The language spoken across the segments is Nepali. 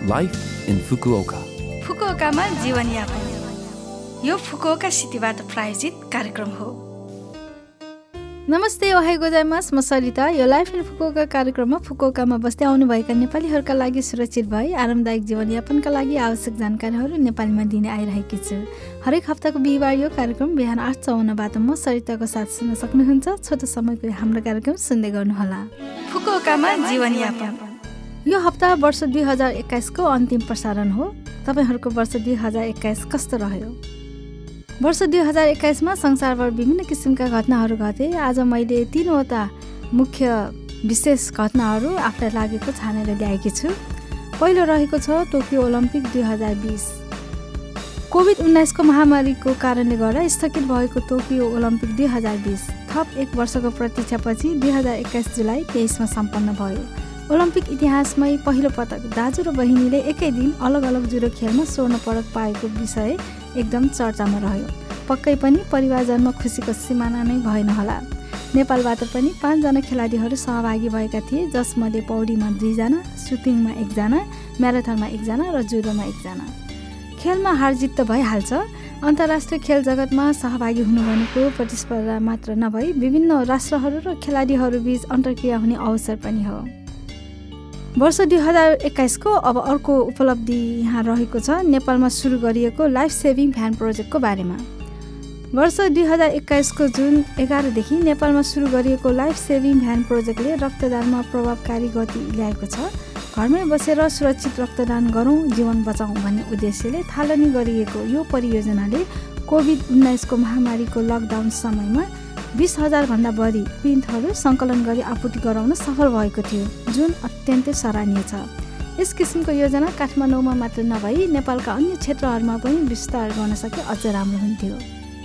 Life in Fukuoka. फुकुओकामा जीवनयापन यो फुकुओका सिटीबाट प्रायोजित कार्यक्रम हो। नमस्ते, ओहाई गोजाइमास, म सरिता। यो लाइफ इन फुकुओका कार्यक्रममा फुकुओकामा बस्दै आउनुभएका नेपालीहरूका लागि सुरक्षित भई आरामदायक जीवनयापनका लागि आवश्यक जानकारीहरू नेपालीमा दिने आइरहेकी छु। हरेक हप्ताको बिहिबार यो कार्यक्रम बिहान 8:54बाट म सरिताको साथ सुन्न सक्नुहुन्छ। छोटो समयको हाम्रो कार्यक्रम सुन्दै गर्नुहोला। फुकुओकामा जीवनयापन। यो हप्ता वर्ष 2021 को अन्तिम प्रसारण हो। तपाईहरूको वर्ष 2021 कस्तो रह्यो? वर्ष 2021 मा संसारभर विभिन्न किसिमका घटनाहरू घटे। आज मैले 3वटा मुख्य विशेष घटनाहरू आफूलाई लागेको छानेर ल्याएकी छु। पहिलो रहेको छ टोकियो ओलम्पिक 2020। कोभिड-19 को महामारीको कारणले गर्दा स्थगित भएको टोकियो ओलम्पिक 2020 थप 1 वर्षको प्रतीक्षापछि 2021 जुलाई 23 मा सम्पन्न भयो। ओलम्पिक इतिहासमै पहिलो पटक दाजु र बहिनीले एकै दिन अलग अलग जुडो खेलमा स्वर्ण पदक पाएको विषय एकदम चर्चामा रह्यो। पक्कै पनि परिवारजनमा खुसीको सिमाना नै भएन होला। नेपालबाट पनि 5 जना खेलाडीहरू सहभागी भएका थिए, जसमध्ये पौडीमा 2 जना, सुटिङमा 1 जना, म्याराथनमा 1 जना र जुडोमा 1 जना। खेलमा हारजित त भइहाल्छ। अन्तर्राष्ट्रिय खेल जगतमा सहभागी हुनु भनेको प्रतिस्पर्धा मात्र नभई विभिन्न राष्ट्रहरू र खेलाडीहरू बीच अन्तर्क्रिया हुने अवसर पनि हो। वर्ष 2021 को अब अर्को उपलब्धि यहाँ रहेको छ नेपालमा सुरु गरिएको लाइफ सेभिङ भ्यान प्रोजेक्टको बारेमा। वर्ष 2021 को जुन 11 देखि नेपालमा सुरु गरिएको लाइफ सेभिङ भ्यान प्रोजेक्टले रक्तदानमा प्रभावकारी गति ल्याएको छ। घरमै बसेर सुरक्षित रक्तदान गरौँ, जीवन बचाउँ भन्ने उद्देश्यले थालनी गरिएको यो परियोजनाले कोभिड-19 को महामारीको लकडाउन समयमा 20,000 भन्दा बढी प्रिन्टहरू सङ्कलन गरी आपूर्ति गराउन सफल भएको थियो, जुन अत्यन्तै सराहनीय छ। यस किसिमको योजना काठमाडौँमा मात्र नभई नेपालका अन्य क्षेत्रहरूमा पनि विस्तार गर्न सके अझ राम्रो हुन्थ्यो।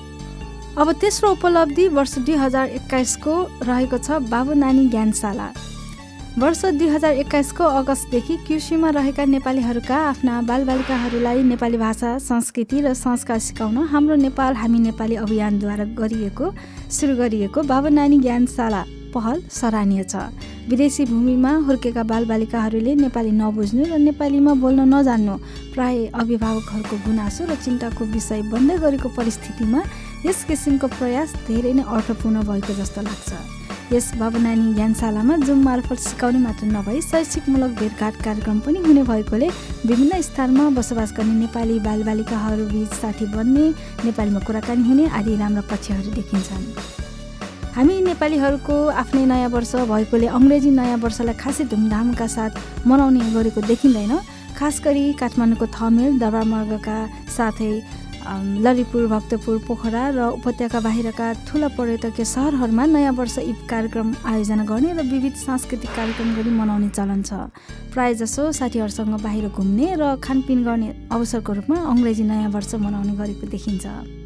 अब तेस्रो उपलब्धि वर्ष 2021 को रहेको छ बाबु नानी ज्ञानशाला। वर्ष 2021 को अगस्तदेखि क्युसीमा रहेका नेपालीहरूका आफ्ना बालबालिकाहरूलाई नेपाली भाषा, संस्कृति र संस्कार सिकाउन हाम्रो नेपाल हामी नेपाली अभियानद्वारा सुरु गरिएको बाबु नानी ज्ञानशाला पहल सराहनीय छ। विदेशी भूमिमा हुर्केका बालबालिकाहरूले नेपाली नबुझ्नु र नेपालीमा बोल्न नजान्नु प्राय अभिभावकहरूको गुनासो र चिन्ताको विषय बन्दै गरेको परिस्थितिमा यस किसिमको प्रयास धेरै नै अर्थपूर्ण भएको जस्तो लाग्छ। यस बाबु नानी ज्ञानशालामा जुम मार्फत सिकाउने मात्र नभई शैक्षिकमूलक भेटघाट कार्यक्रम पनि हुने भएकोले विभिन्न स्थानमा बसोबास गर्ने नेपाली बालबालिकाहरू बीच साथी बन्ने, नेपालीमा कुराकानी हुने आदि राम्रा पक्षहरू देखिन्छन्। हामी नेपालीहरूको आफ्नै नयाँ वर्ष भएकोले अङ्ग्रेजी नयाँ वर्षलाई खासै धुमधामका साथ मनाउने गरेको देखिँदैन। खास गरी काठमाडौँको थमेल, दरबारमर्गका साथै ललितपुर, भक्तपुर, पोखरा र उपत्यका बाहिरका ठुला पर्यटकीय सहरहरूमा नयाँ वर्ष इभ कार्यक्रम आयोजना गर्ने र विविध सांस्कृतिक कार्यक्रम गरी मनाउने चलन छ। प्रायजसो साथीहरूसँग बाहिर घुम्ने र खानपिन गर्ने अवसरको रूपमा अङ्ग्रेजी नयाँ वर्ष मनाउने गरेको देखिन्छ।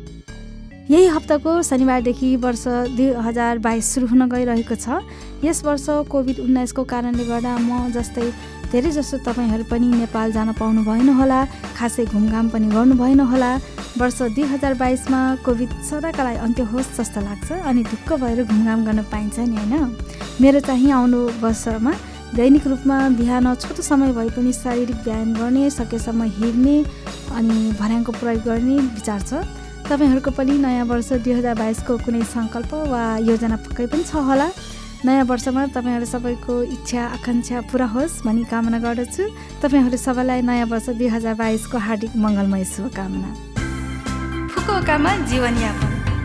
यही हप्ताको शनिबारदेखि वर्ष 2022 सुरु हुन गइरहेको छ। यस वर्ष कोभिड-19 को कारणले गर्दा म जस्तै धेरैजसो तपाईँहरू पनि नेपाल जान पाउनु भएन होला, खासै घुमघाम पनि गर्नु भएन होला। वर्ष 2022 मा कोभिड सदाका लागि अन्त्य होस् जस्तो लाग्छ अनि ढुक्क भएर घुमघाम गर्न पाइन्छ नि, होइन? मेरो चाहिँ आउनु वर्षमा दैनिक रूपमा बिहान छोटो समय भए पनि शारीरिक व्यायाम गर्ने, सकेसम्म हिँड्ने अनि भर्याङको प्रयोग गर्ने विचार छ। तपाईँहरूको पनि नयाँ वर्ष 2022 को कुनै सङ्कल्प वा योजना पक्कै पनि छ होला। नयाँ वर्षमा तपाईँहरू सबैको इच्छा आकाङ्क्षा पुरा होस् भनी कामना गर्दछु। तपाईँहरू सबैलाई नयाँ वर्ष 2022 को हार्दिक मङ्गलमय शुभकामना। फुकुओकामा जीवनयापन।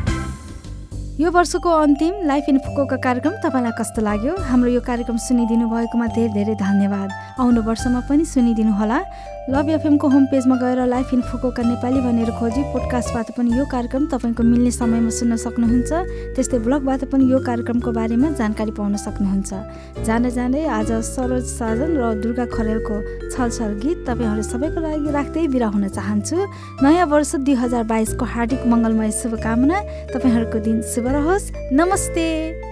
यो वर्षको अन्तिम लाइफ इन फुकुओका कार्यक्रम तपाईँलाई कस्तो लाग्यो? हाम्रो यो कार्यक्रम सुनिदिनु भएकोमा धेरै धेरै धन्यवाद। आउनु वर्षमा पनि सुनिदिनु होला। लभ एफएम को होम पेजमा गएर लाइफ इन फुकुओका नेपाली भनेर खोजी पोडकास्टबाट पनि यो कार्यक्रम तपाईँको मिल्ने समयमा सुन्न सक्नुहुन्छ। त्यस्तै ब्लगबाट पनि यो कार्यक्रमको बारेमा जानकारी पाउन सक्नुहुन्छ। जाँदै जाँदै आज सरोज साजन र दुर्गा खरेलको छलछल गीत तपाईँहरू सबैको लागि राख्दै बिदा हुन चाहन्छु। नयाँ वर्ष 2022 को हार्दिक मङ्गलमय शुभकामना। तपाईँहरूको दिन शुभ रहोस्। नमस्ते।